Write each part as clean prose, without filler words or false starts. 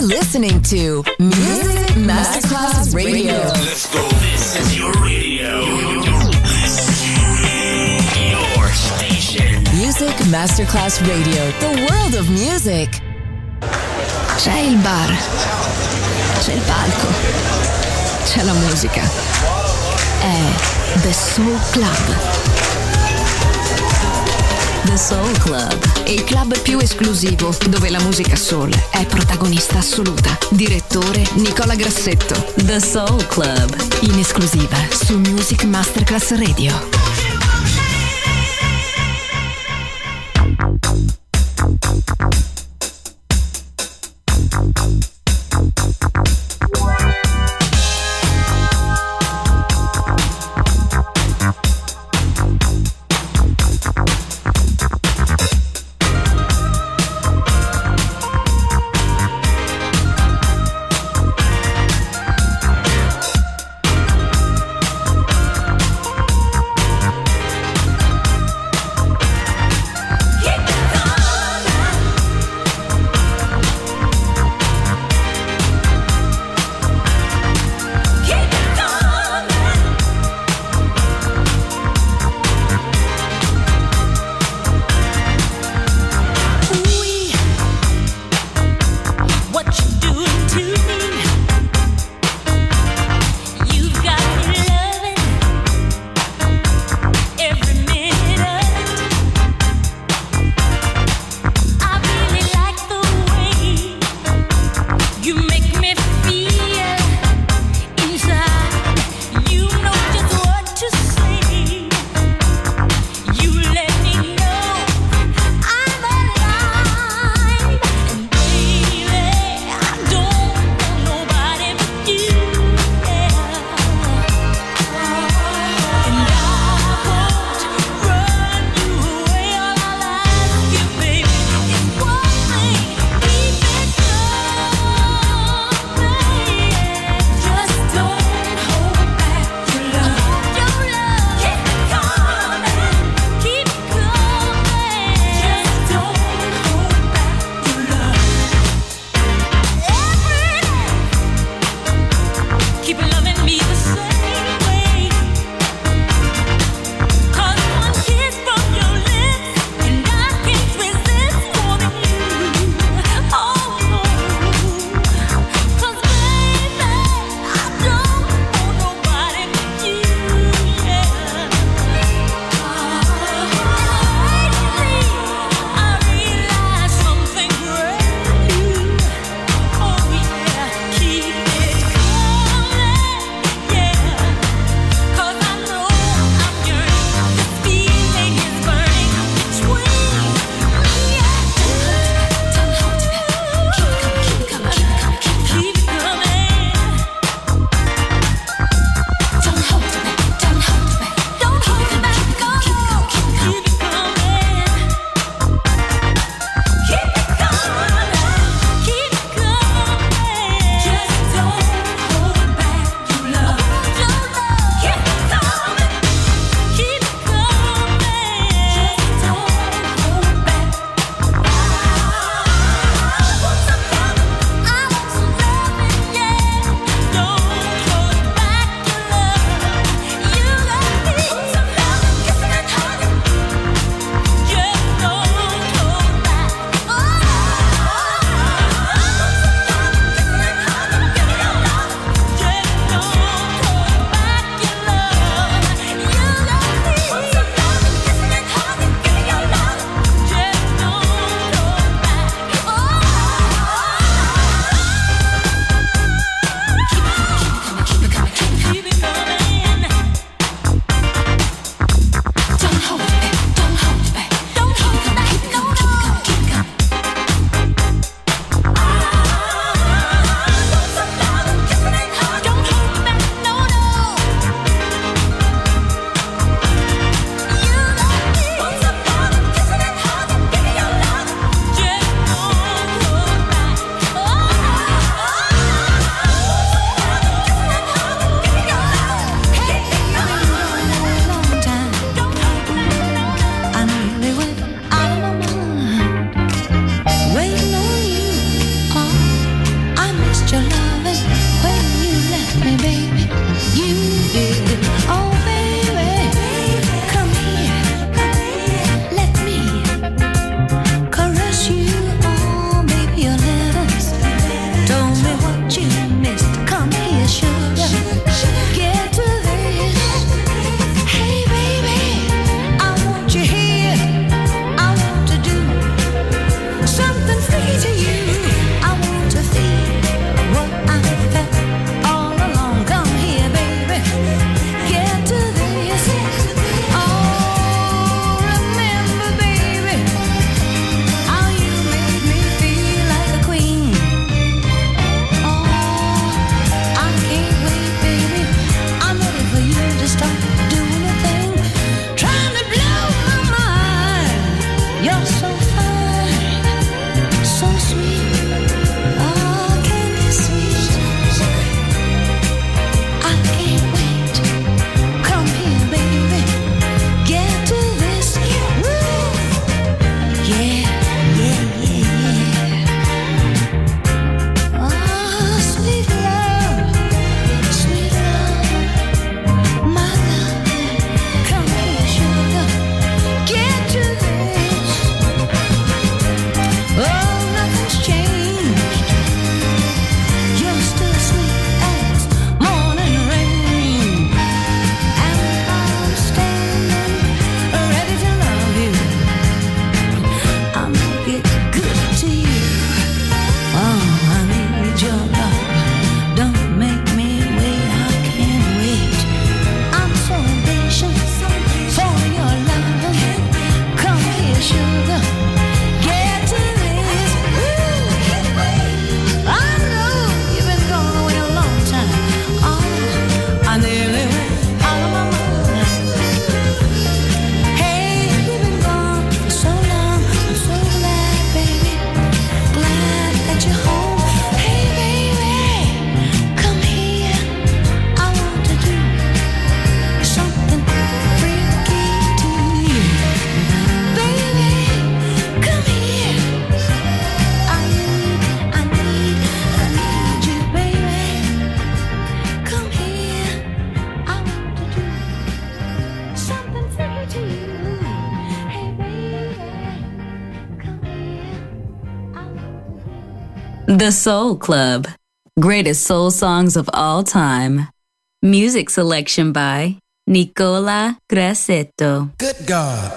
listening to Music Masterclass Radio. Let's go. This is your radio. Your station. Music Masterclass Radio. The world of music. C'è il bar. C'è il palco. C'è la musica. È The Soul Club. The Soul Club, il club più esclusivo dove la musica soul è protagonista assoluta. Direttore Nicola Grassetto. The Soul Club, in esclusiva su Music Masterclass Radio. The Soul Club. Greatest soul songs of all time. Music selection by Nicola Grassetto. Good God.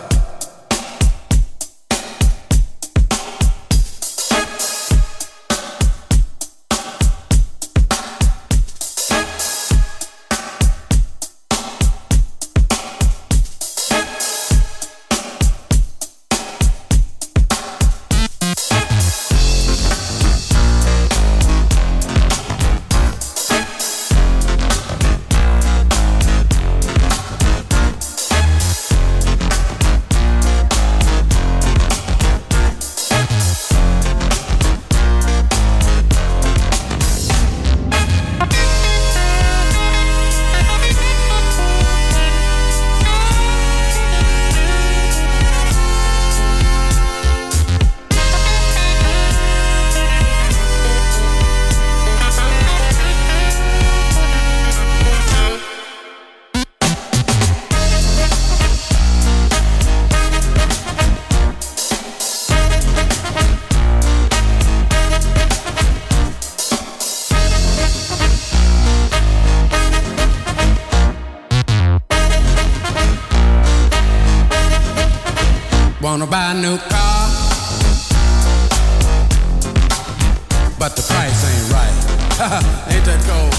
Wanna buy a new car, but the price ain't right. Ain't that cold?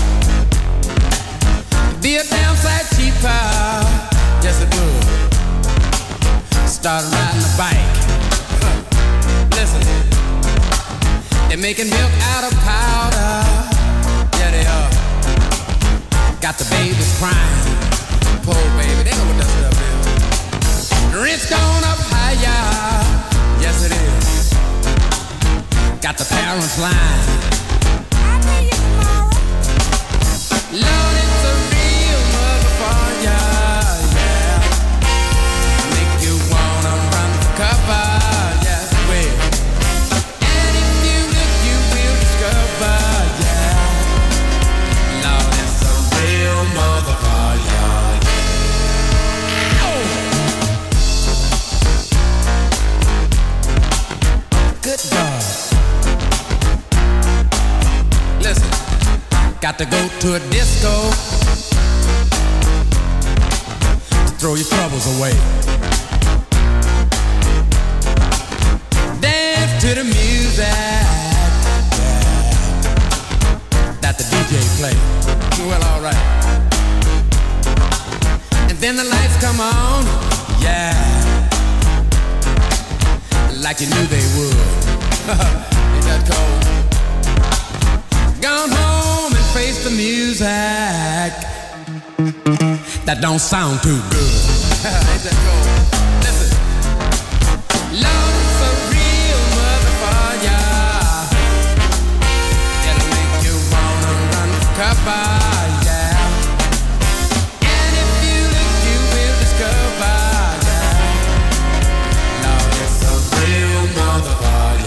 Be a damn sight cheaper, yes it would. Start riding a bike. Listen, they're making milk out of powder. Yeah they are. Got the babies crying. Poor baby, they know what that stuff is. Rent's gone up higher, yes it is. Got the parents lying. I'll pay you tomorrow. Lord, it's a real motherfucker, yeah. Make you wanna run for cover, yes it will. And if you look, you will discover, yeah. Lord, it's a real motherfucker. Good God. Listen, got to go to a disco to throw your troubles away. Dance to the music, yeah, that the DJ play. Well, alright. And then the lights come on, yeah, like you knew they would. Ain't that cold? Gone home and face the music that don't sound too good. Ain't that cold? Listen, Lord, it's a real motherfucker. It'll make you wanna run for cover, yeah. And if you look, you will discover, yeah. Lord, it's a real motherfucker.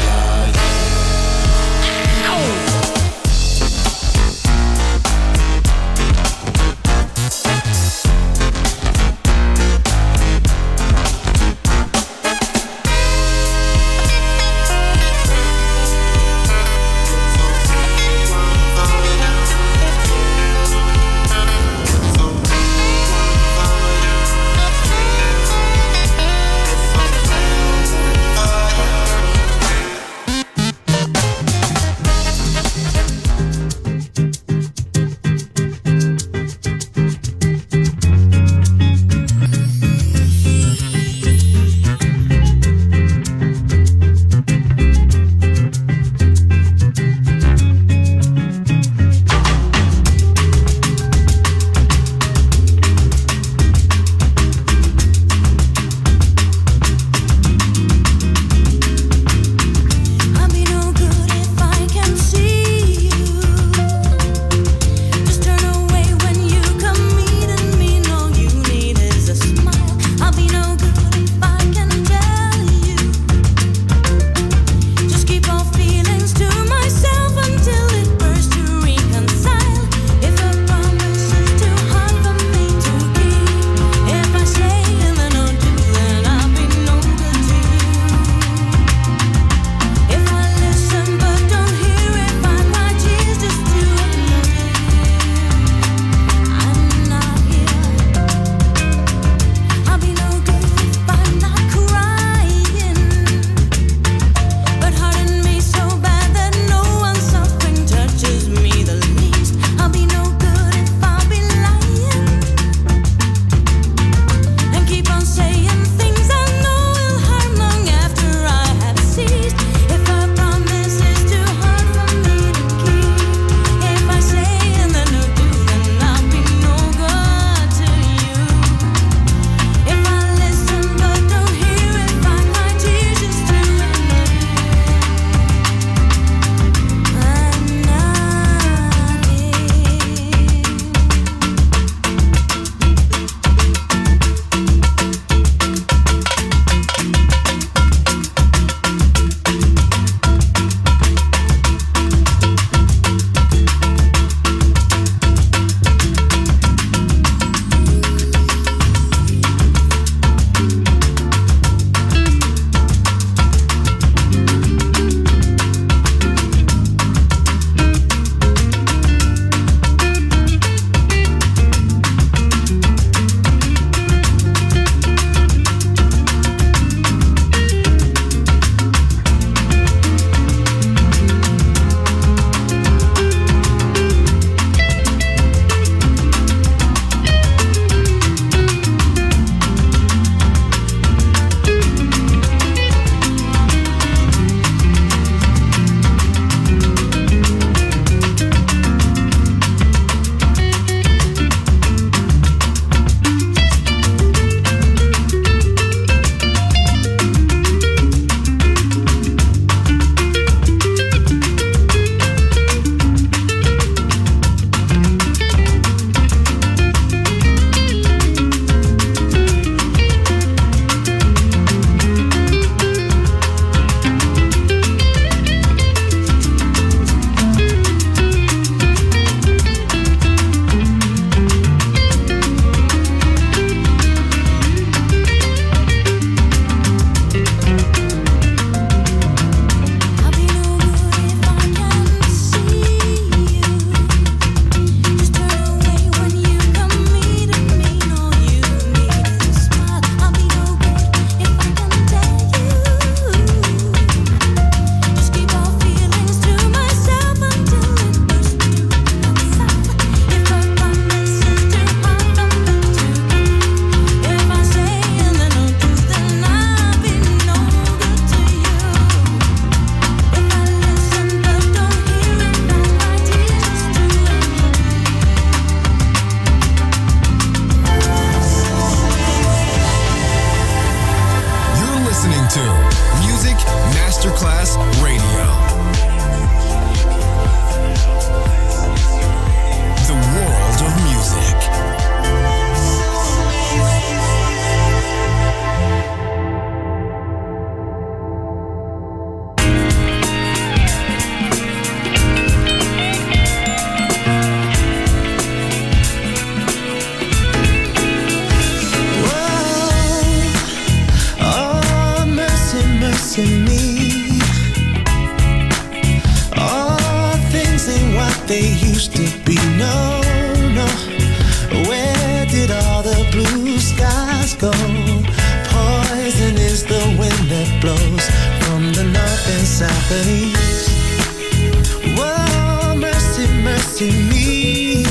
they used to be. No, no, where did all the blue skies go? Poison is the wind that blows from the north and south and east. Whoa, mercy, mercy me.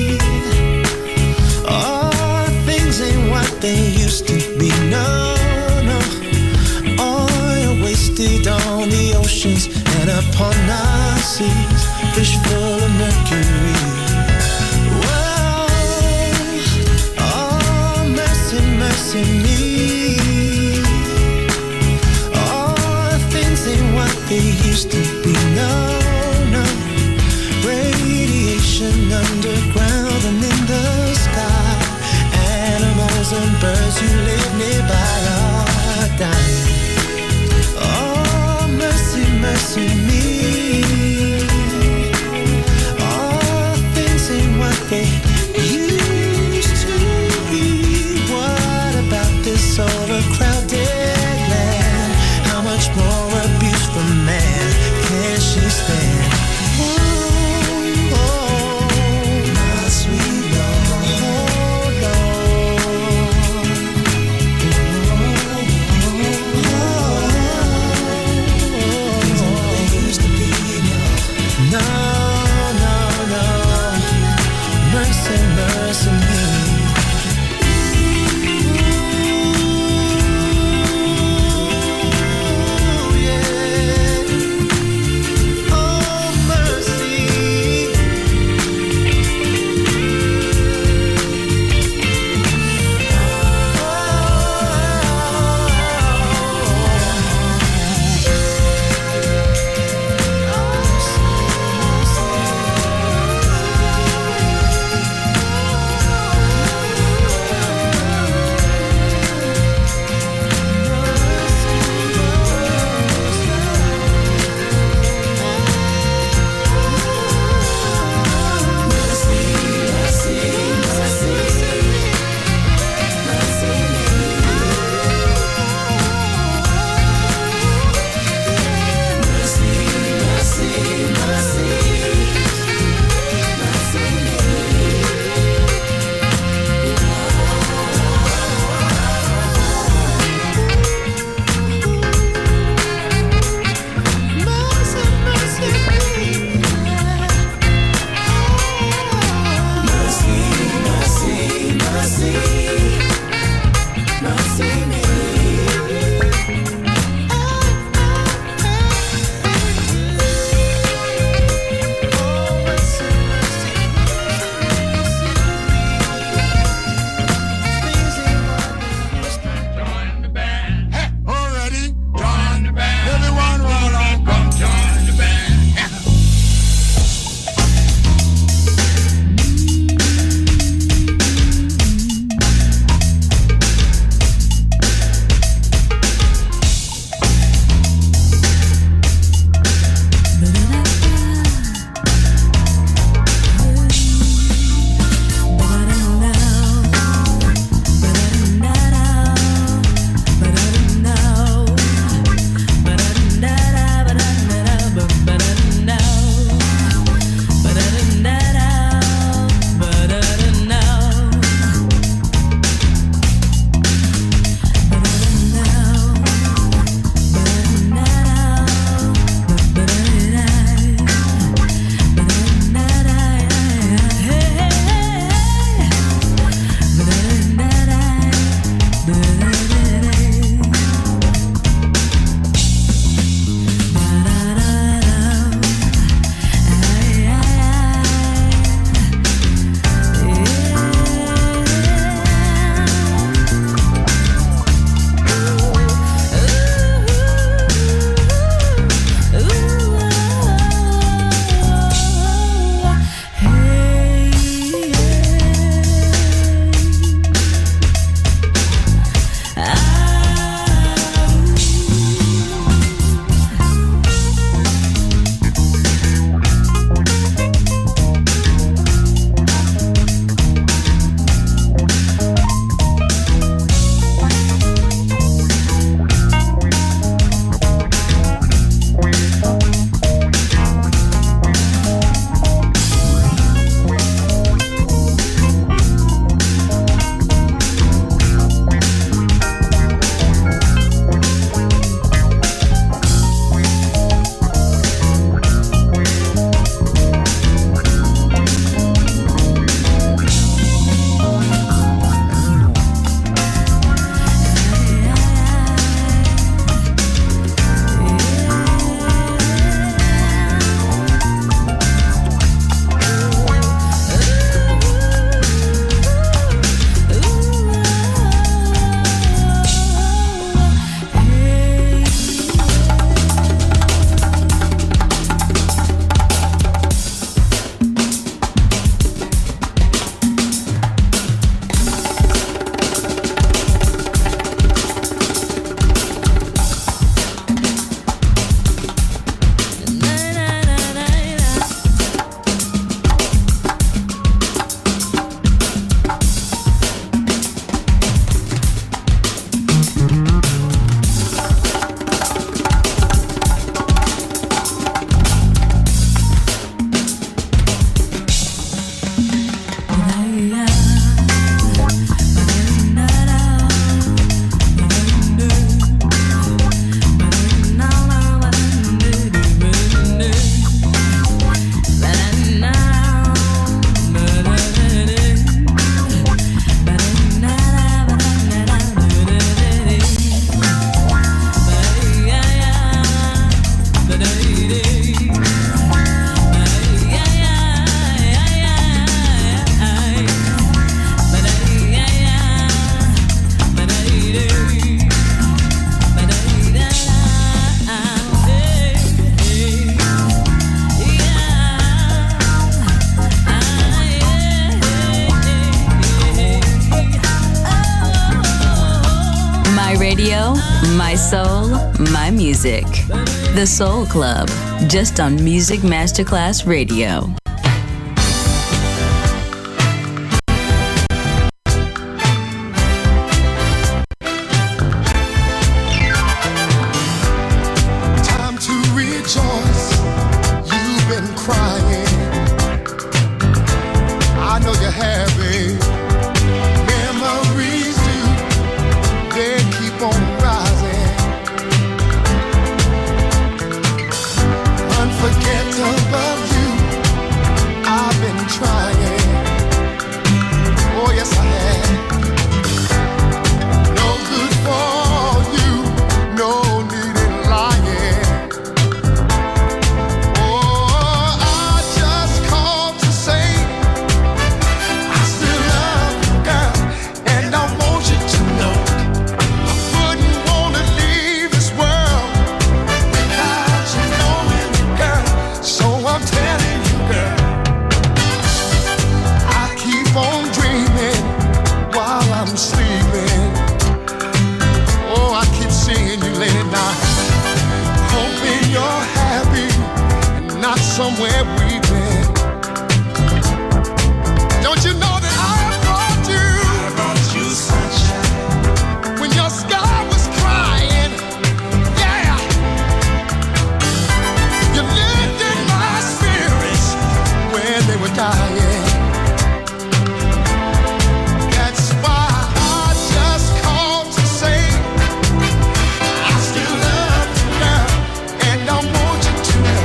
Oh, things ain't what they used to be. No, no, oil wasted on the oceans and upon our seas, fish full of mercury. Whoa, oh, mercy, mercy me. Oh, things ain't what they used to be. My soul, my music. The Soul Club, just on Music Masterclass Radio.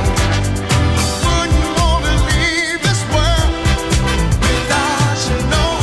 Wouldn't wanna leave this world without you, know.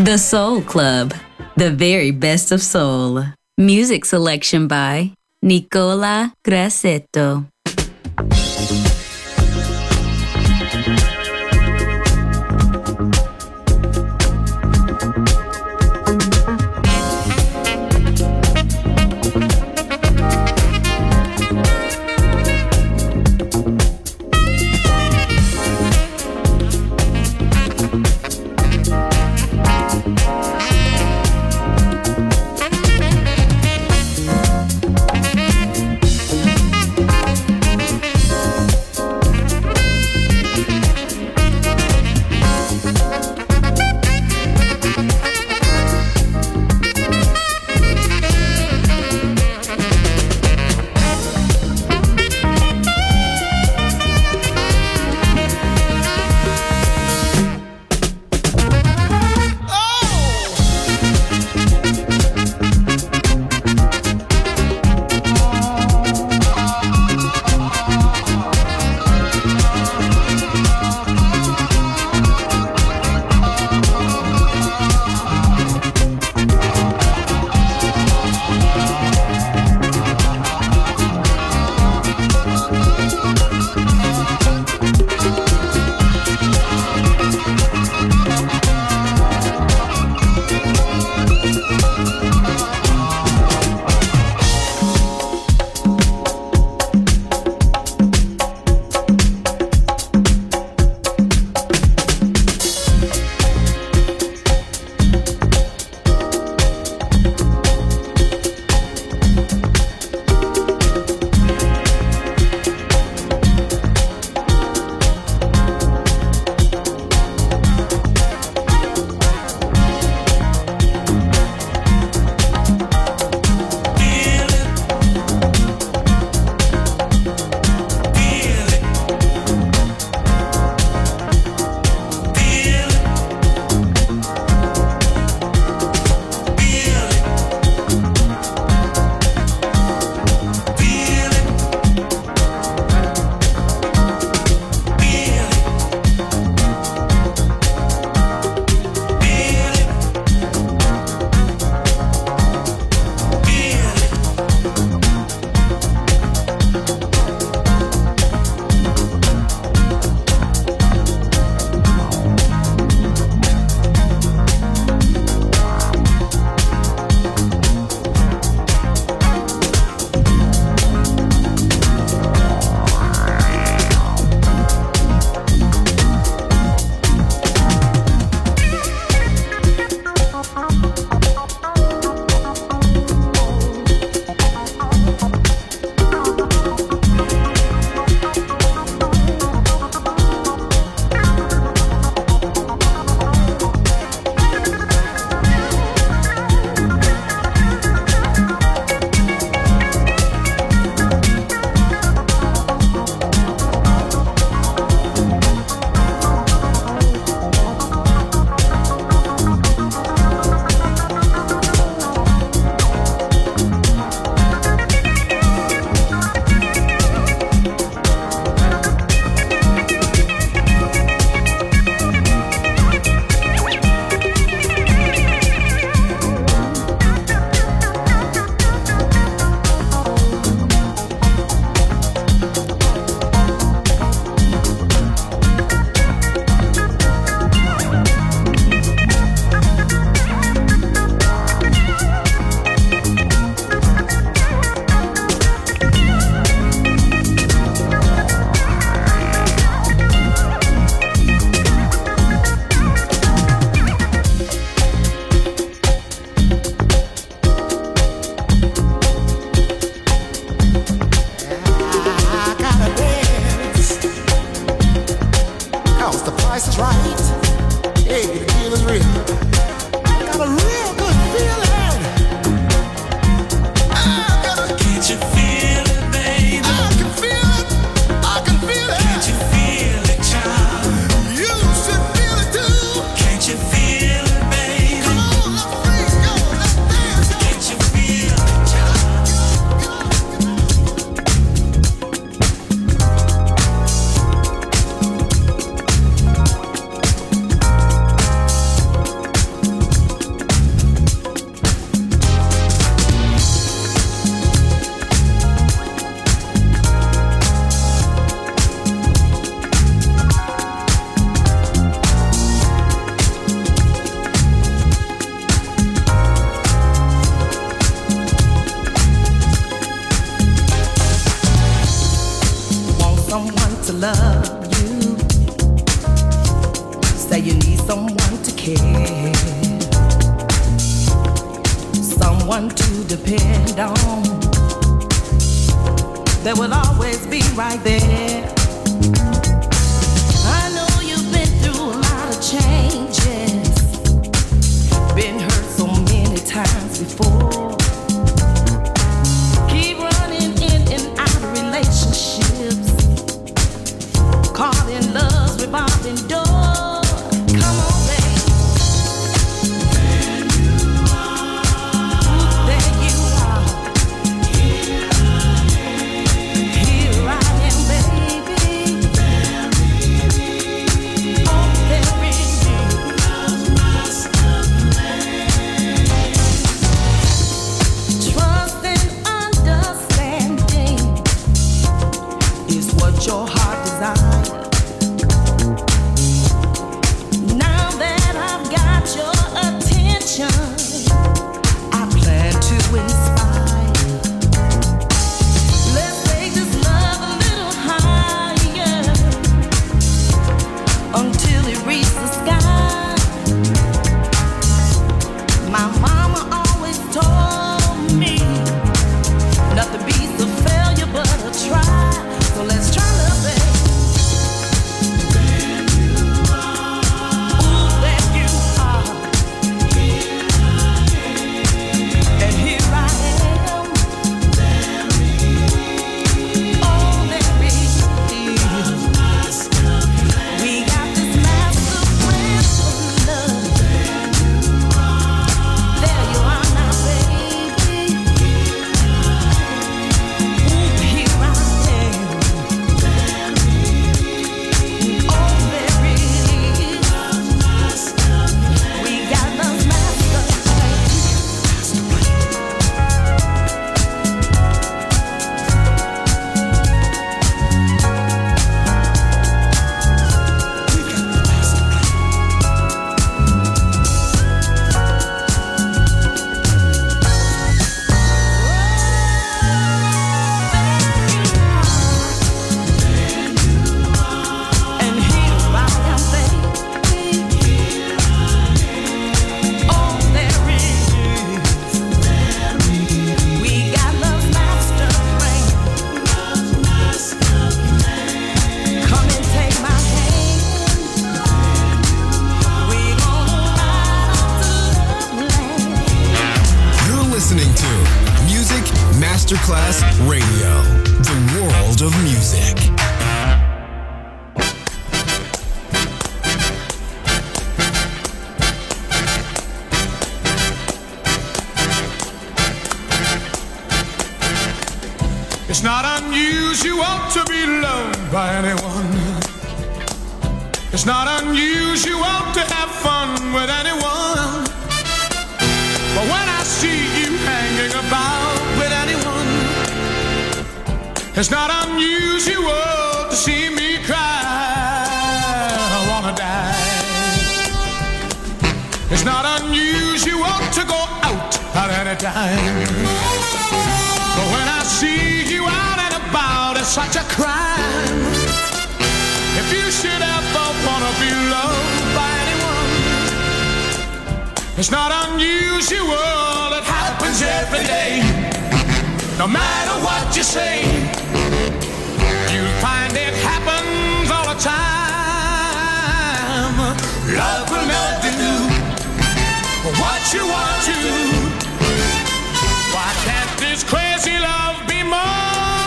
The Soul Club, the very best of soul. Music selection by Nicola Grassetto. care, someone to depend on, that will always be right there. I know you've been through a lot of changes, been hurt so many times before. Keep running in and out of relationships, caught in love's revolving door. Come on, babe. There you are. There you are. Here I am, baby. Oh, there is you. Trust and understanding is what your heart desires. Now that I've got your attention, I plan to inspire. Let's take this love a little higher until it reaches the sky. My mama always told me nothing beats a failure but a try. So let's try love, babe. Ooh, there you are. And here I am. Oh, there is you. We got this master plan of love. There you are now, baby. Ooh, here I am. Oh, there is. We got the master plan. And here I am, baby. Oh, there is. We got love's master plan. Come and take my hand. We gonna ride off to loveland. You're listening to Music Masterclass Radio, the world of music. It's not unusual to be loved by anyone. It's not unusual to have fun with anyone. But when I see you hanging about with anyone, it's not unusual to see me cry. I wanna die. It's not unusual to go out at any time. But when I see you out and about, it's such a crime. If you should ever wanna be loved by anyone, it's not unusual, it happens every day. No matter what you say, you'll find it happens all the time. Love will never do what you want to. Why can't this crazy love be more?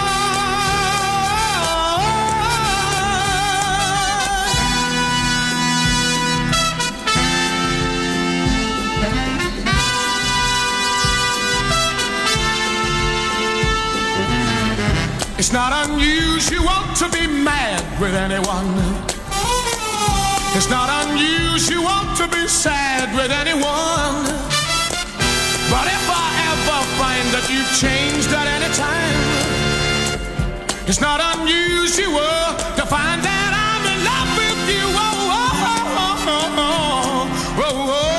It's not unusual to be mad with anyone. It's not unusual to be sad with anyone. But if I ever find that you've changed at any time, it's not unusual to find that I'm in love with you. Oh, oh, oh, oh, oh, oh, oh, oh.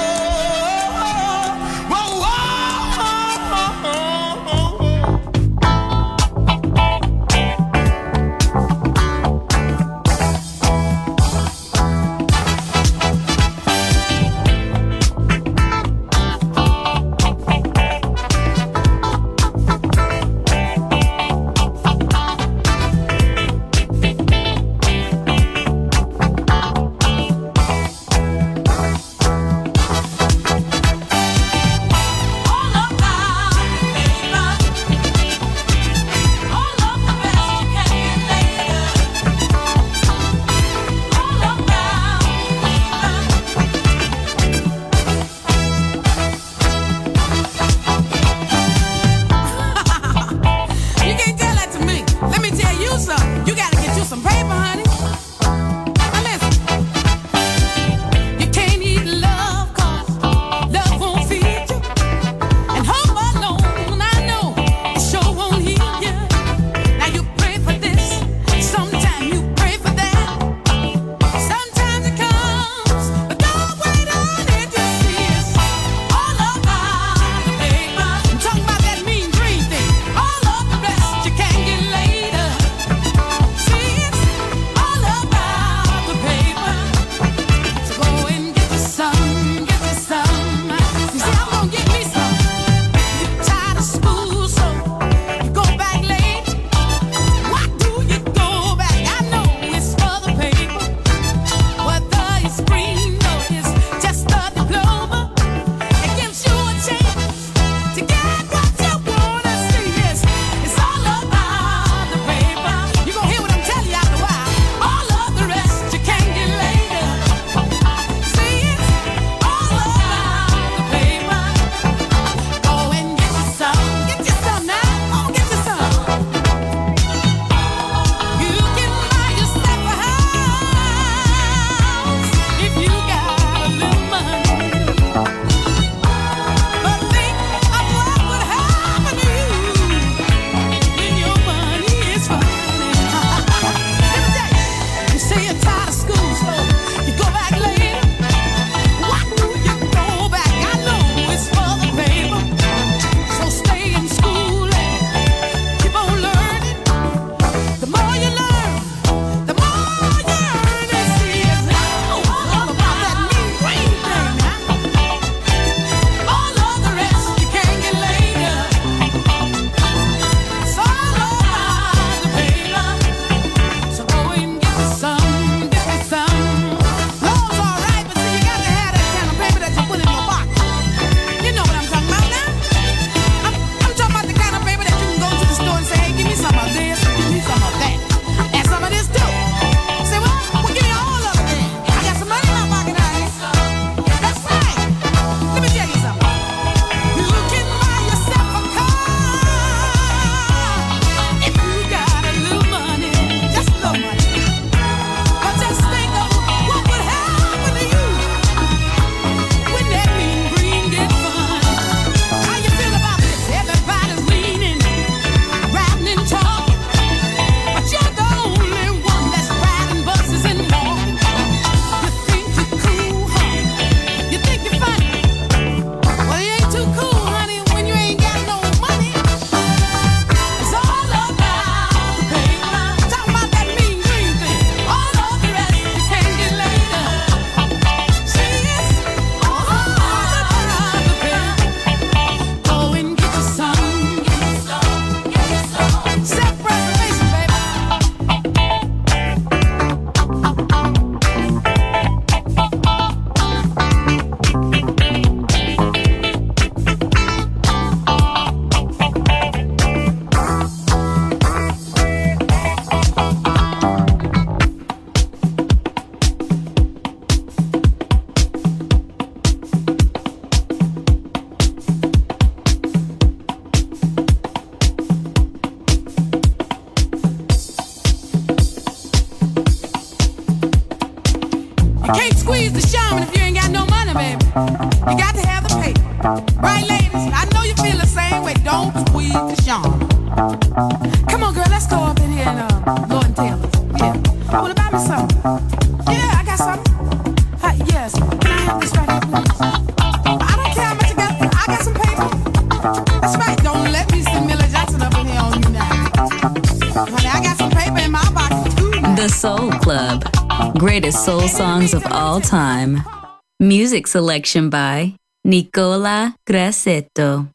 can't squeeze the shaman if you ain't got no money, baby. You got to have the paper. Right, ladies? I know you feel the same way. Don't squeeze the shaman. Come on, girl, let's go up in here and Lord and Taylor's. Yeah. Well, buy me something. Yeah, I got something. Yes. Can I have this right here, please? I don't care how much you got. I got some paper. That's right. Don't let me see Millie Jackson up in here on you now. Honey, I got some paper in my pocket too. The Soul Club. Greatest soul songs of all time. Music selection by Nicola Grassetto.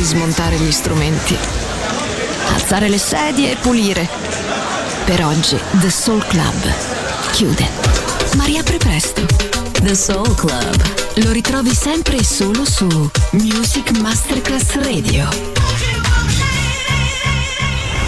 smontare gli strumenti, alzare le sedie e pulire. Per oggi The Soul Club chiude, ma riapre presto. The Soul Club lo ritrovi sempre e solo su Music Masterclass Radio.